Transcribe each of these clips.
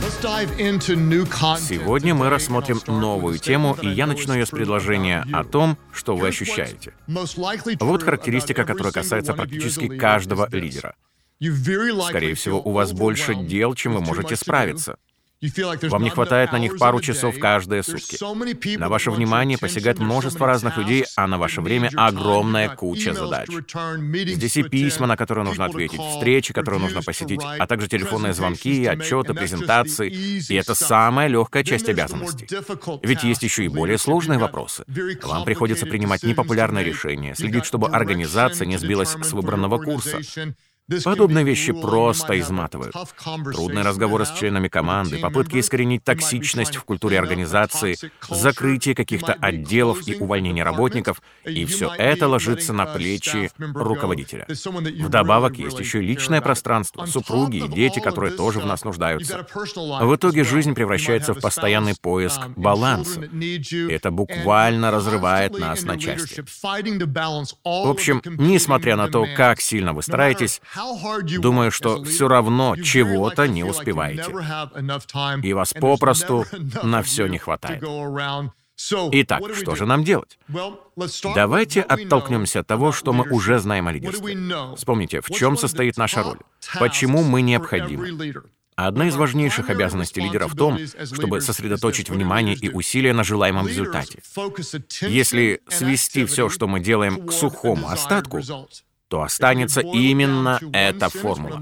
Сегодня мы рассмотрим новую тему, и я начну ее с предложения о том, что вы ощущаете. Вот характеристика, которая касается практически каждого лидера. Скорее всего, у вас больше дел, чем вы можете справиться. Вам не хватает на них пару часов каждые сутки. На ваше внимание посягает множество разных людей, а на ваше время огромная куча задач. Здесь и письма, на которые нужно ответить, встречи, которые нужно посетить, а также телефонные звонки, отчеты, презентации. И это самая легкая часть обязанностей. Ведь есть еще и более сложные вопросы. Вам приходится принимать непопулярные решения, следить, чтобы организация не сбилась с выбранного курса. Подобные вещи просто изматывают. Трудные разговоры с членами команды, попытки искоренить токсичность в культуре организации, закрытие каких-то отделов и увольнение работников, и все это ложится на плечи руководителя. Вдобавок есть еще и личное пространство, супруги и дети, которые тоже в нас нуждаются. В итоге жизнь превращается в постоянный поиск баланса. Это буквально разрывает нас на части. В общем, несмотря на то, как сильно вы стараетесь, думаю, что все равно чего-то не успеваете. И вас попросту на все не хватает. Итак, что же нам делать? Давайте оттолкнемся от того, что мы уже знаем о лидерстве. Вспомните, в чем состоит наша роль, почему мы необходимы. Одна из важнейших обязанностей лидера в том, чтобы сосредоточить внимание и усилия на желаемом результате. Если свести все, что мы делаем, к сухому остатку, то останется именно эта формула.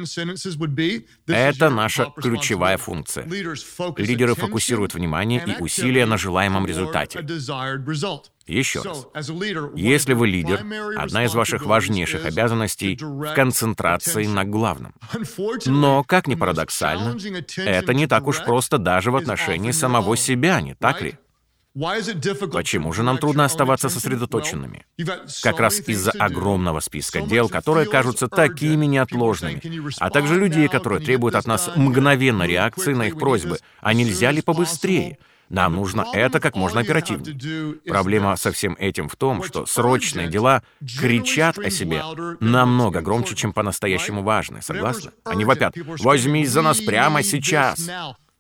Это наша ключевая функция. Лидеры фокусируют внимание и усилия на желаемом результате. Еще раз. Если вы лидер, одна из ваших важнейших обязанностей — в концентрации на главном. Но, как ни парадоксально, это не так уж просто даже в отношении самого себя, не так ли? Почему же нам трудно оставаться сосредоточенными? Как раз из-за огромного списка дел, которые кажутся такими неотложными, а также людей, которые требуют от нас мгновенной реакции на их просьбы. А нельзя ли побыстрее? Нам нужно это как можно оперативнее. Проблема со всем этим в том, что срочные дела кричат о себе намного громче, чем по-настоящему важные. Согласны? Они вопят: «Возьмись за нас прямо сейчас!»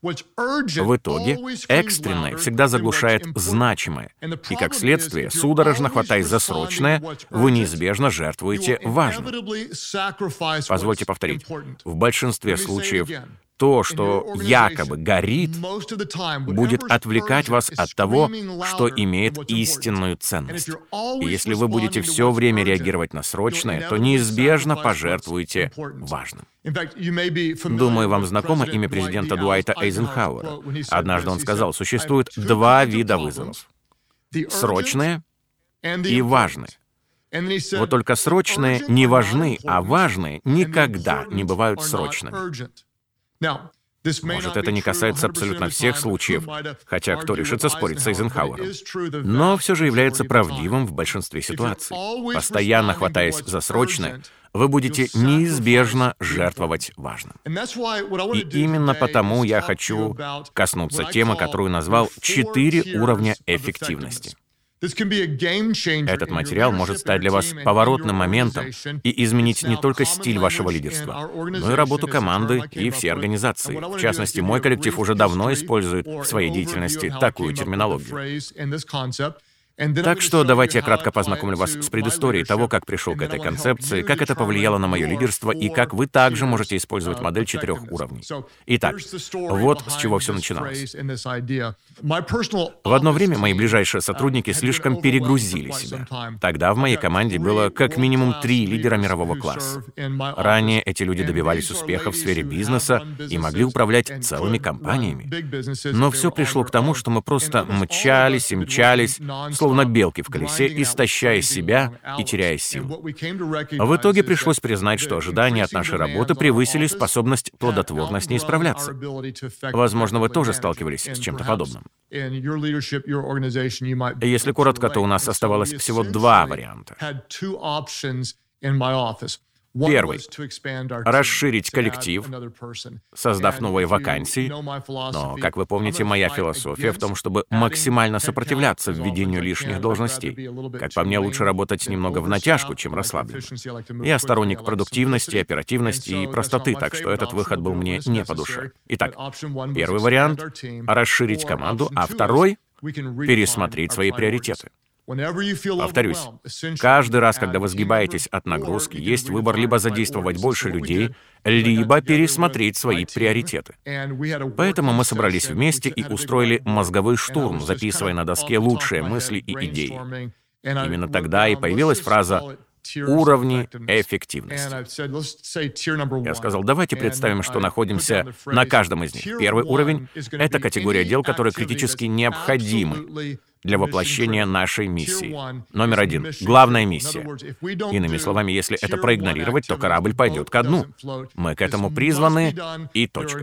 В итоге экстренное всегда заглушает значимое, и, как следствие, судорожно хватаясь за срочное, вы неизбежно жертвуете важным. Позвольте повторить. В большинстве случаев то, что якобы горит, будет отвлекать вас от того, что имеет истинную ценность. И если вы будете все время реагировать на срочное, то неизбежно пожертвуете важным. Думаю, вам знакомо имя президента Дуайта Эйзенхауэра. Однажды он сказал, существует два вида вызовов: срочные и важные. Вот только срочные не важны, а важные никогда не бывают срочными. Может, это не касается абсолютно всех случаев, хотя кто решится спорить с Эйзенхауэром, но все же является правдивым в большинстве ситуаций. Постоянно хватаясь за срочное, вы будете неизбежно жертвовать важным. И именно потому я хочу коснуться темы, которую назвал «4 уровня эффективности». Этот материал может стать для вас поворотным моментом и изменить не только стиль вашего лидерства, но и работу команды и всей организации. В частности, мой коллектив уже давно использует в своей деятельности такую терминологию. Так что давайте я кратко познакомлю вас с предысторией того, как пришел к этой концепции, как это повлияло на мое лидерство и как вы также можете использовать модель 4 уровней. Итак, вот с чего все начиналось. В одно время мои ближайшие сотрудники слишком перегрузили себя. Тогда в моей команде было как минимум 3 лидера мирового класса. Ранее эти люди добивались успеха в сфере бизнеса и могли управлять целыми компаниями. Но все пришло к тому, что мы просто мчались и мчались, словно белки в колесе, истощая себя и теряя силу. В итоге пришлось признать, что ожидания от нашей работы превысили способность плодотворно с ней справляться. Возможно, вы тоже сталкивались с чем-то подобным. Если коротко, то у нас оставалось всего 2 варианта. Первый — расширить коллектив, создав новые вакансии. Но, как вы помните, моя философия в том, чтобы максимально сопротивляться введению лишних должностей. Как по мне, лучше работать немного в натяжку, чем расслабленно. Я сторонник продуктивности, оперативности и простоты, так что этот выход был мне не по душе. Итак, первый вариант — расширить команду, а второй — пересмотреть свои приоритеты. Повторюсь, каждый раз, когда вы сгибаетесь от нагрузки, есть выбор либо задействовать больше людей, либо пересмотреть свои приоритеты. Поэтому мы собрались вместе и устроили мозговой штурм, записывая на доске лучшие мысли и идеи. Именно тогда и появилась фраза «уровни эффективности». Я сказал, давайте представим, что находимся на каждом из них. Первый уровень — это категория дел, которые критически необходимы для воплощения нашей миссии. Номер один — главная миссия. Иными словами, если это проигнорировать, то корабль пойдет ко дну. Мы к этому призваны, и точка.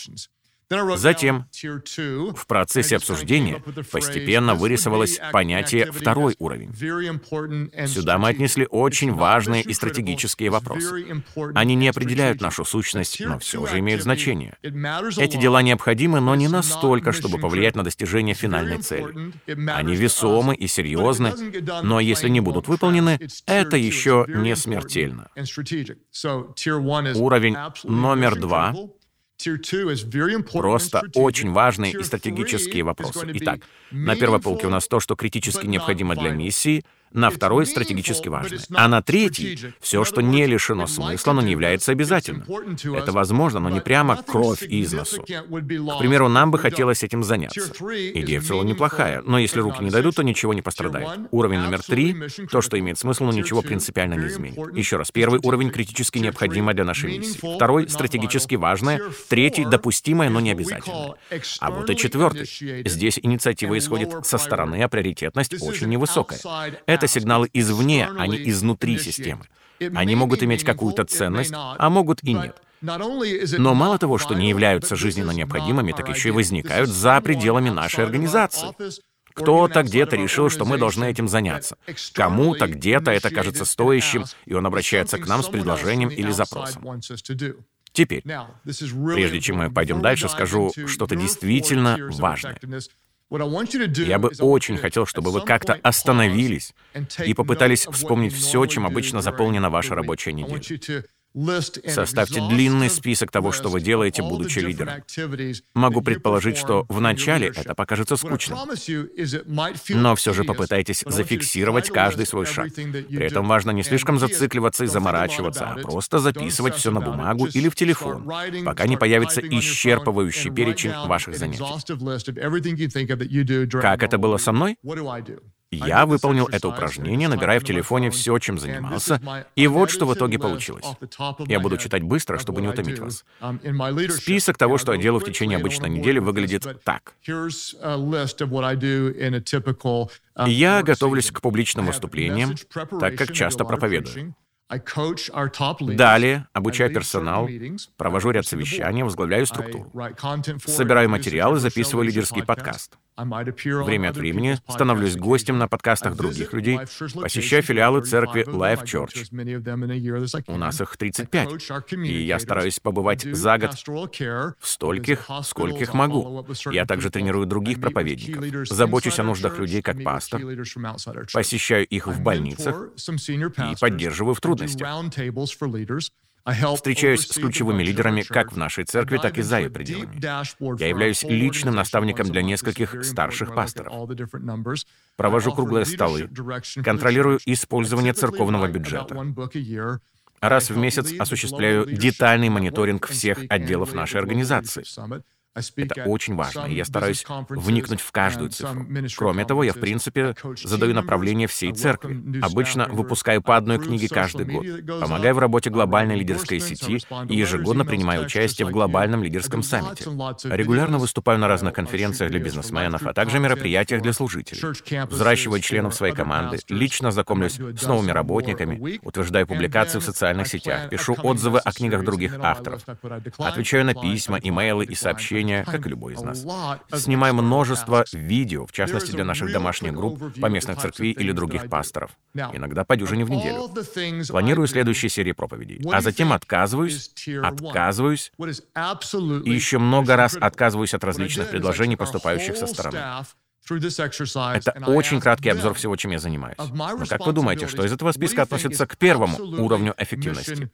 Затем, в процессе обсуждения постепенно вырисовалось понятие «второй уровень». Сюда мы отнесли очень важные и стратегические вопросы. Они не определяют нашу сущность, но все же имеют значение. Эти дела необходимы, но не настолько, чтобы повлиять на достижение финальной цели. Они весомы и серьезны, но если не будут выполнены, это еще не смертельно. Уровень номер 2 — просто очень важные и стратегические вопросы. Итак, на первой полке у нас то, что критически необходимо для миссии, на второй — стратегически важное, а на третий — все, что не лишено смысла, но не является обязательным. Это возможно, но не прямо кровь из носу. К примеру, нам бы хотелось этим заняться. Идея в целом неплохая, но если руки не дойдут, то ничего не пострадает. Уровень номер 3 — то, что имеет смысл, но ничего принципиально не изменит. Еще раз, первый уровень — критически необходимое для нашей миссии. Второй — стратегически важное. Третий — допустимое, но не обязательное. А вот и четвертый. Здесь инициатива исходит со стороны, а приоритетность очень невысокая. Это сигналы извне, а не изнутри системы. Они могут иметь какую-то ценность, а могут и нет. Но мало того, что не являются жизненно необходимыми, так еще и возникают за пределами нашей организации. Кто-то где-то решил, что мы должны этим заняться. Кому-то где-то это кажется стоящим, и он обращается к нам с предложением или запросом. Теперь, прежде чем мы пойдем дальше, скажу что-то действительно важное. Я бы очень хотел, чтобы вы как-то остановились и попытались вспомнить все, чем обычно заполнена ваша рабочая неделя. Составьте длинный список того, что вы делаете, будучи лидером. Могу предположить, что вначале это покажется скучным. Но все же попытайтесь зафиксировать каждый свой шаг. При этом важно не слишком зацикливаться и заморачиваться, а просто записывать все на бумагу или в телефон, пока не появится исчерпывающий перечень ваших занятий. Как это было со мной? Я выполнил это упражнение, набирая в телефоне все, чем занимался, и вот что в итоге получилось. Я буду читать быстро, чтобы не утомить вас. Список того, что я делаю в течение обычной недели, выглядит так. Я готовлюсь к публичным выступлениям, так как часто проповедую. Далее обучаю персонал, провожу ряд совещаний, возглавляю структуру. Собираю материалы, записываю лидерский подкаст. Время от времени становлюсь гостем на подкастах других людей, посещаю филиалы церкви Life Church. У нас их 35, и я стараюсь побывать за год в стольких, скольких могу. Я также тренирую других проповедников, забочусь о нуждах людей как пастор, посещаю их в больницах и поддерживаю в трудностях. Встречаюсь с ключевыми лидерами как в нашей церкви, так и за ее пределами. Я являюсь личным наставником для нескольких старших пасторов. Провожу круглые столы, контролирую использование церковного бюджета. Раз в месяц осуществляю детальный мониторинг всех отделов нашей организации. Это очень важно, и я стараюсь вникнуть в каждую цифру. Кроме того, я, в принципе, задаю направление всей церкви. Обычно выпускаю по одной книге каждый год. Помогаю в работе глобальной лидерской сети и ежегодно принимаю участие в глобальном лидерском саммите. Регулярно выступаю на разных конференциях для бизнесменов, а также мероприятиях для служителей. Взращиваю членов своей команды, лично знакомлюсь с новыми работниками, утверждаю публикации в социальных сетях, пишу отзывы о книгах других авторов, отвечаю на письма, имейлы и сообщения общения, как и любой из нас. Снимаем множество видео, в частности для наших домашних групп, поместных церквей или других пасторов. Иногда по дюжине в неделю. Планирую следующие серии проповедей. А затем отказываюсь, и еще много раз отказываюсь от различных предложений, поступающих со стороны. Это очень краткий обзор всего, чем я занимаюсь. Но как вы думаете, что из этого списка относится к первому уровню эффективности?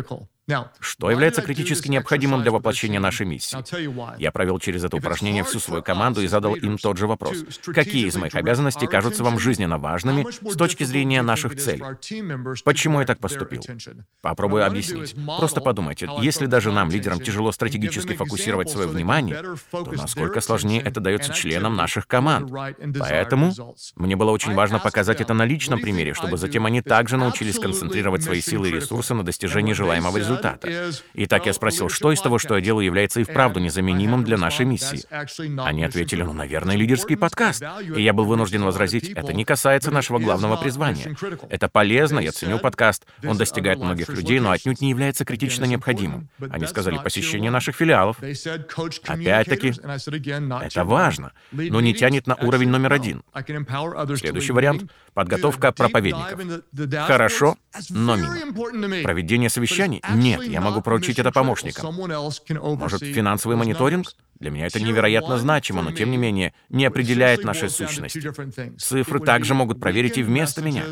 Что является критически необходимым для воплощения нашей миссии? Я провел через это упражнение всю свою команду и задал им тот же вопрос. Какие из моих обязанностей кажутся вам жизненно важными с точки зрения наших целей? Почему я так поступил? Попробую объяснить. Просто подумайте, если даже нам, лидерам, тяжело стратегически фокусировать свое внимание, то насколько сложнее это дается членам наших команд. Поэтому мне было очень важно показать это на личном примере, чтобы затем они также научились концентрировать свои силы и ресурсы на достижении желаемого результата. Итак, я спросил, что из того, что я делаю, является и вправду незаменимым для нашей миссии. Они ответили, наверное, лидерский подкаст. И я был вынужден возразить, это не касается нашего главного призвания. Это полезно, я ценю подкаст, он достигает многих людей, но отнюдь не является критично необходимым. Они сказали, посещение наших филиалов. Опять-таки, это важно, но не тянет на уровень номер 1. Следующий вариант — подготовка проповедников. Хорошо, но мимо. Проведение совещаний? Нет, я могу поручить это помощникам. Может, финансовый мониторинг? Для меня это невероятно значимо, но тем не менее не определяет нашей сущности. Цифры также могут проверить и вместо меня.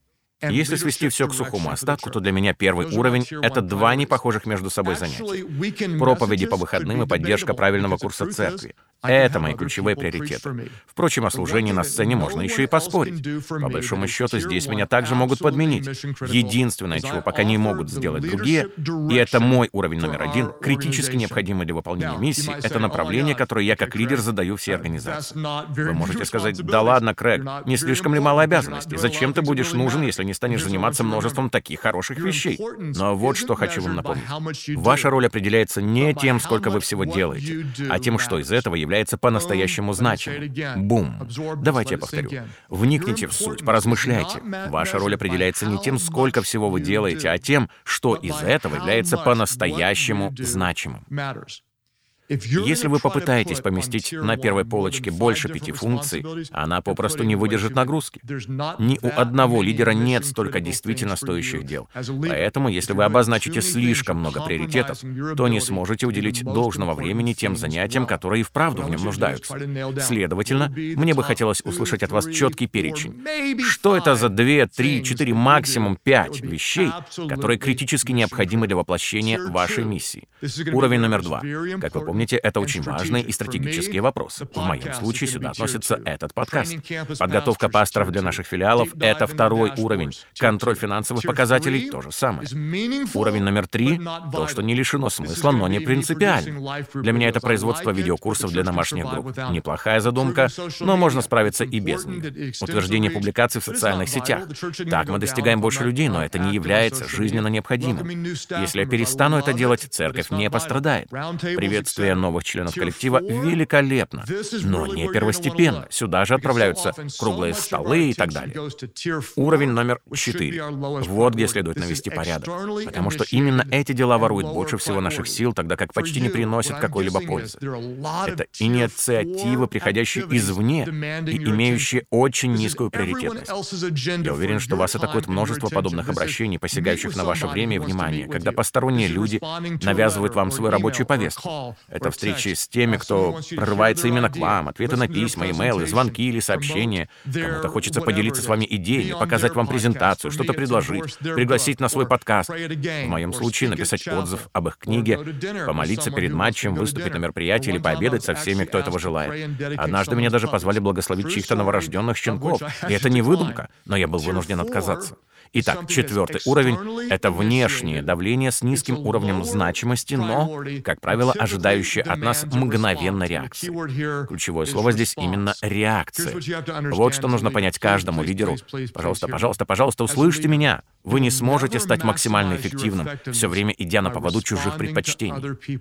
Если свести все к сухому остатку, то для меня первый уровень — это 2 непохожих между собой занятия. Проповеди по выходным и поддержка правильного курса церкви. Это мои ключевые приоритеты. Впрочем, о служении на сцене можно еще и поспорить. По большому счету, здесь меня также могут подменить. Единственное, чего пока не могут сделать другие, и это мой уровень номер 1, критически необходимый для выполнения миссии, это направление, которое я как лидер задаю всей организации. Вы можете сказать, да ладно, Крэг, не слишком ли мало обязанностей? Зачем ты будешь нужен, если не станешь заниматься множеством таких хороших вещей? Но вот что хочу вам напомнить. Ваша роль определяется не тем, сколько вы всего делаете, а тем, что из этого является по-настоящему значимым. Бум. Давайте я повторю. Вникните в суть, поразмышляйте. Ваша роль определяется не тем, сколько всего вы делаете, а тем, что из этого является по-настоящему значимым. Если вы попытаетесь поместить на первой полочке больше 5 функций, она попросту не выдержит нагрузки. Ни у одного лидера нет столько действительно стоящих дел. Поэтому, если вы обозначите слишком много приоритетов, то не сможете уделить должного времени тем занятиям, которые и вправду в нем нуждаются. Следовательно, мне бы хотелось услышать от вас четкий перечень. Что это за 2, 3, 4, максимум 5 вещей, которые критически необходимы для воплощения вашей миссии? Уровень номер 2. Как вы помните, это очень важные и стратегические вопросы. В моем случае сюда относится этот подкаст. Подготовка пасторов для наших филиалов — это 2-й уровень. Контроль финансовых показателей — то же самое. Уровень номер 3 — то, что не лишено смысла, но не принципиально. Для меня это производство видеокурсов для домашних групп. Неплохая задумка, но можно справиться и без нее. Утверждение публикаций в социальных сетях. Так мы достигаем больше людей, но это не является жизненно необходимым. Если я перестану это делать, церковь не пострадает. Приветствие новых членов коллектива великолепно, но не первостепенно. Сюда же отправляются круглые столы и так далее. Уровень номер 4. Вот где следует навести порядок. Потому что именно эти дела воруют больше всего наших сил, тогда как почти не приносят какой-либо пользы. Это инициативы, приходящие извне и имеющие очень низкую приоритетность. Я уверен, что вас атакует множество подобных обращений, посягающих на ваше время и внимание, когда посторонние люди навязывают вам свою рабочую повестку. Это встречи с теми, кто прорывается именно к вам, ответы на письма, имейлы, звонки или сообщения. Кому-то хочется поделиться с вами идеями, показать вам презентацию, что-то предложить, пригласить на свой подкаст. В моем случае написать отзыв об их книге, помолиться перед матчем, выступить на мероприятии или пообедать со всеми, кто этого желает. Однажды меня даже позвали благословить чьих-то новорожденных щенков. И это не выдумка, но я был вынужден отказаться. Итак, 4-й уровень — это внешнее давление с низким уровнем значимости, но, как правило, ожидающее от нас мгновенной реакции. Ключевое слово здесь именно реакция. Вот что нужно понять каждому лидеру. Пожалуйста, пожалуйста, пожалуйста, услышьте меня. Вы не сможете стать максимально эффективным, все время идя на поводу чужих предпочтений.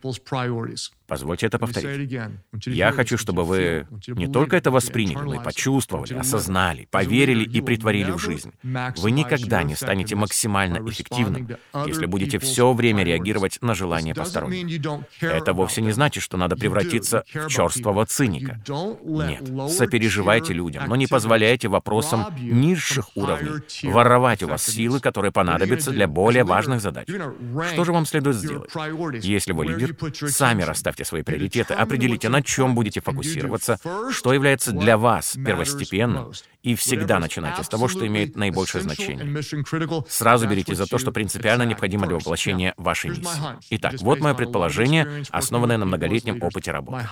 Позвольте это повторить. Я хочу, чтобы вы не только это восприняли, но и почувствовали, осознали, поверили и претворили в жизнь. Вы никогда не станете максимально эффективным, если будете все время реагировать на желания посторонних. Это вовсе не значит, что надо превратиться в черствого циника. Нет, сопереживайте людям, но не позволяйте вопросам низших уровней воровать у вас силы, которые понадобятся для более важных задач. Что же вам следует сделать? Если вы лидер, сами расставьте свои приоритеты, определите, на чем будете фокусироваться, что является для вас первостепенным, и всегда начинайте с того, что имеет наибольшее значение. Сразу берите за то, что принципиально необходимо для воплощения вашей миссии. Итак, вот мое предположение, основанное на многолетнем опыте работы.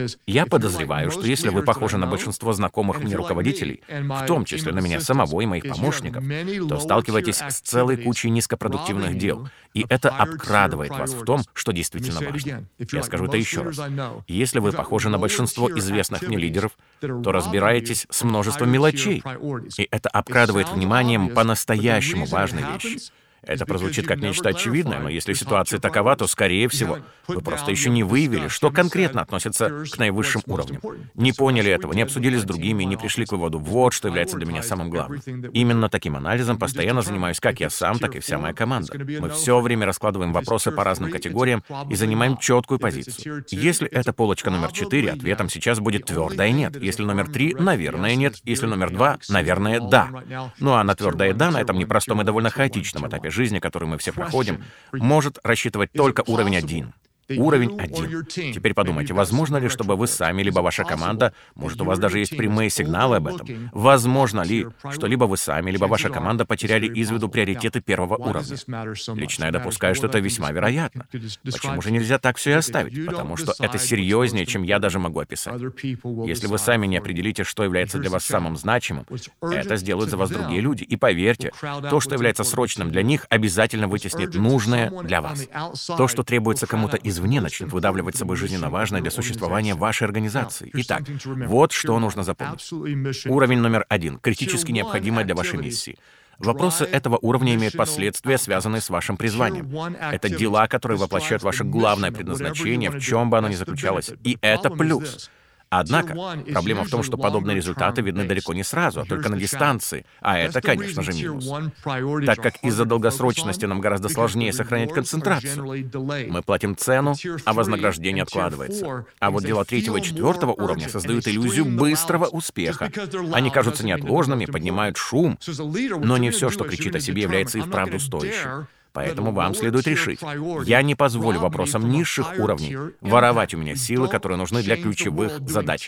Я подозреваю, что если вы похожи на большинство знакомых мне руководителей, в том числе на меня самого и моих помощников, то сталкиваетесь с целой кучей низкопродуктивных дел, и это обкрадывает вас в том, что действительно важно. Я скажу это еще раз. Если вы похожи на большинство известных мне лидеров, то разбираетесь с множеством мелочей, и это обкрадывает вниманием по-настоящему важные вещи. Это прозвучит как нечто очевидное, но если ситуация такова, то, скорее всего, вы просто еще не выявили, что конкретно относится к наивысшим уровням. Не поняли этого, не обсудили с другими, не пришли к выводу, вот что является для меня самым главным. Именно таким анализом постоянно занимаюсь как я сам, так и вся моя команда. Мы все время раскладываем вопросы по разным категориям и занимаем четкую позицию. Если это полочка номер 4, ответом сейчас будет твердое «нет». Если номер 3, наверное, нет. Если номер 2, наверное, да. Ну а на твердое «да» на этом непростом и довольно хаотичном этапе жизни, который мы все проходим, может рассчитывать только уровень 1. Уровень 1. Теперь подумайте, возможно ли, чтобы вы сами, либо ваша команда, может, у вас даже есть прямые сигналы об этом, возможно ли, что либо вы сами, либо ваша команда потеряли из виду приоритеты первого уровня? Лично я допускаю, что это весьма вероятно. Почему же нельзя так все и оставить? Потому что это серьезнее, чем я даже могу описать. Если вы сами не определите, что является для вас самым значимым, это сделают за вас другие люди. И поверьте, то, что является срочным для них, обязательно вытеснит нужное для вас. То, что требуется кому-то извне, начнет выдавливать с собой жизненно важное для существования вашей организации. Итак, вот что нужно запомнить. Уровень номер 1, критически необходимый для вашей миссии. Вопросы этого уровня имеют последствия, связанные с вашим призванием. Это дела, которые воплощают ваше главное предназначение, в чем бы оно ни заключалось. И это плюс. Однако, проблема в том, что подобные результаты видны далеко не сразу, а только на дистанции, а это, конечно же, минус. Так как из-за долгосрочности нам гораздо сложнее сохранять концентрацию. Мы платим цену, а вознаграждение откладывается. А вот дела 3 и 4 уровня создают иллюзию быстрого успеха. Они кажутся неотложными, поднимают шум, но не все, что кричит о себе, является и вправду стоящим. Поэтому вам следует решить. Я не позволю вопросам низших уровней воровать у меня силы, которые нужны для ключевых задач.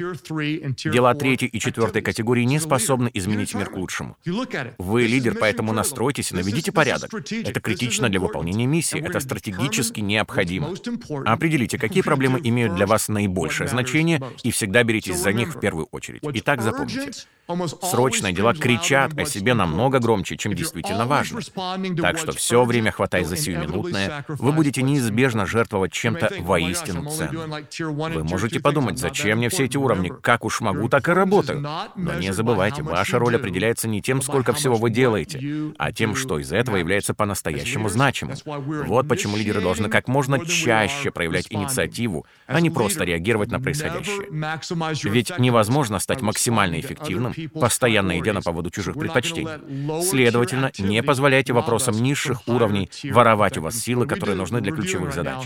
Дела 3 и 4 категории не способны изменить мир к лучшему. Вы лидер, поэтому настройтесь и наведите порядок. Это критично для выполнения миссии, это стратегически необходимо. Определите, какие проблемы имеют для вас наибольшее значение, и всегда беритесь за них в первую очередь. Итак, запомните. Срочные дела кричат о себе намного громче, чем действительно важно. Так что все время хватаясь за сиюминутное, вы будете неизбежно жертвовать чем-то воистину ценным. Вы можете подумать, зачем мне все эти уровни, как уж могу, так и работаю. Но не забывайте, ваша роль определяется не тем, сколько всего вы делаете, а тем, что из этого является по-настоящему значимым. Вот почему лидеры должны как можно чаще проявлять инициативу, а не просто реагировать на происходящее. Ведь невозможно стать максимально эффективным, постоянно идя на поводу чужих предпочтений. Следовательно, не позволяйте вопросам низших уровней воровать у вас силы, которые нужны для ключевых задач.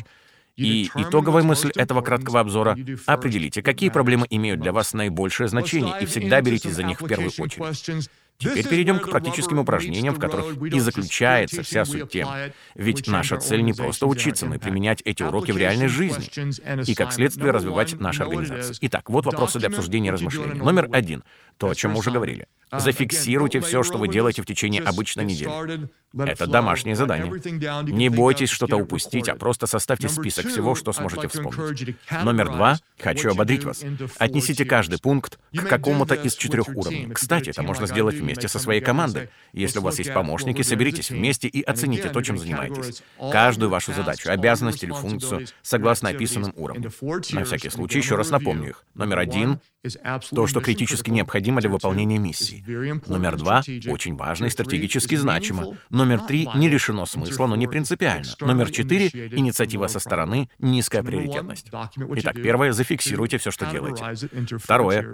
И итоговая мысль этого краткого обзора — определите, какие проблемы имеют для вас наибольшее значение, и всегда беритесь за них в первую очередь. Теперь перейдем к практическим упражнениям, в которых и заключается вся суть темы. Ведь наша цель не просто учиться, но и применять эти уроки в реальной жизни. И, как следствие, развивать нашу организацию. Итак, вот вопросы для обсуждения и размышлений. Номер 1. То, о чем мы уже говорили. Зафиксируйте все, что вы делаете в течение обычной недели. Это домашнее задание. Не бойтесь что-то упустить, а просто составьте список всего, что сможете вспомнить. Номер 2. Хочу ободрить вас. Отнесите каждый пункт к какому-то из 4 уровней. Кстати, это можно сделать вместе со своей командой. Если у вас есть помощники, соберитесь вместе и оцените то, чем занимаетесь. Каждую вашу задачу, обязанность или функцию, согласно описанным уровням. На всякий случай еще раз напомню их. Номер 1. То, что критически необходимо для выполнения миссии. Номер 2. Очень важно и стратегически значимо. Номер 3. Не лишено смысла, но не принципиально. Номер 4. Инициатива со стороны, низкая приоритетность. Итак, первое. Зафиксируйте все, что делаете. Второе.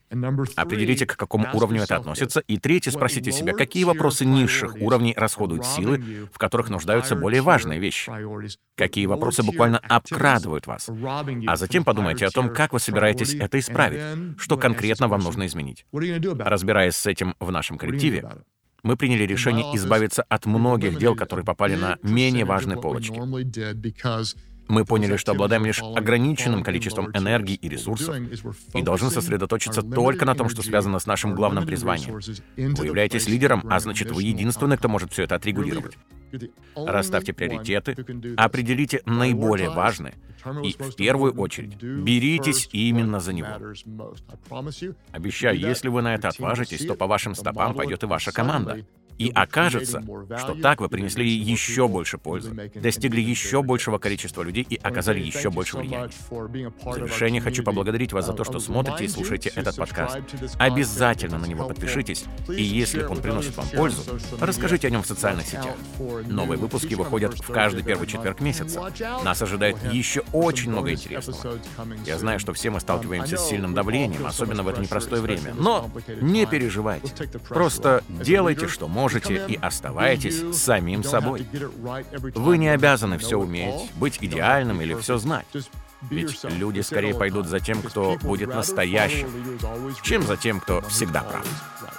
Определите, к какому уровню это относится. И третье, спросите себя, какие вопросы низших уровней расходуют силы, в которых нуждаются более важные вещи. Какие вопросы буквально обкрадывают вас. А затем подумайте о том, как вы собираетесь это исправить, что конкретно вам нужно изменить. Разбираясь с этим в нашем коллективе, мы приняли решение избавиться от многих дел, которые попали на менее важные полочки. Мы поняли, что обладаем лишь ограниченным количеством энергии и ресурсов и должны сосредоточиться только на том, что связано с нашим главным призванием. Вы являетесь лидером, а значит, вы единственный, кто может все это отрегулировать. Расставьте приоритеты, определите наиболее важные и, в первую очередь, беритесь именно за него. Обещаю, если вы на это отважитесь, то по вашим стопам пойдет и ваша команда. И окажется, что так вы принесли еще больше пользы, достигли еще большего количества людей и оказали еще больше влияния. В завершение хочу поблагодарить вас за то, что смотрите и слушаете этот подкаст. Обязательно на него подпишитесь, и если он приносит вам пользу, расскажите о нем в социальных сетях. Новые выпуски выходят в каждый первый четверг месяца. Нас ожидает еще очень много интересного. Я знаю, что все мы сталкиваемся с сильным давлением, особенно в это непростое время. Но не переживайте. Просто делайте, что можете, и оставайтесь самим собой. Вы не обязаны все уметь, быть идеальным или все знать. Ведь люди скорее пойдут за тем, кто будет настоящим, чем за тем, кто всегда прав.